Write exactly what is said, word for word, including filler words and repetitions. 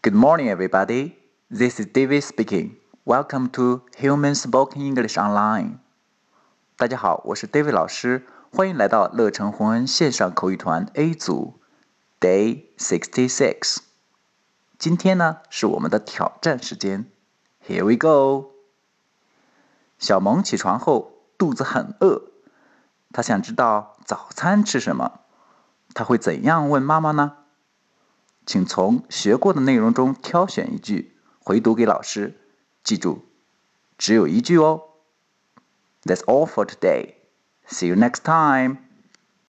Good morning, everybody. This is David speaking. Welcome to Human Spoken English Online. 大家好，我是 David 老师，欢迎来到乐成宏恩线上口语团 A 组 Day sixty-six。今天呢是我们的挑战时间。Here we go. 小萌起床后肚子很饿，她想知道早餐吃什么，她会怎样问妈妈呢？请从学过的内容中挑选一句，回读给老师。记住，只有一句哦。That's all for today. See you next time.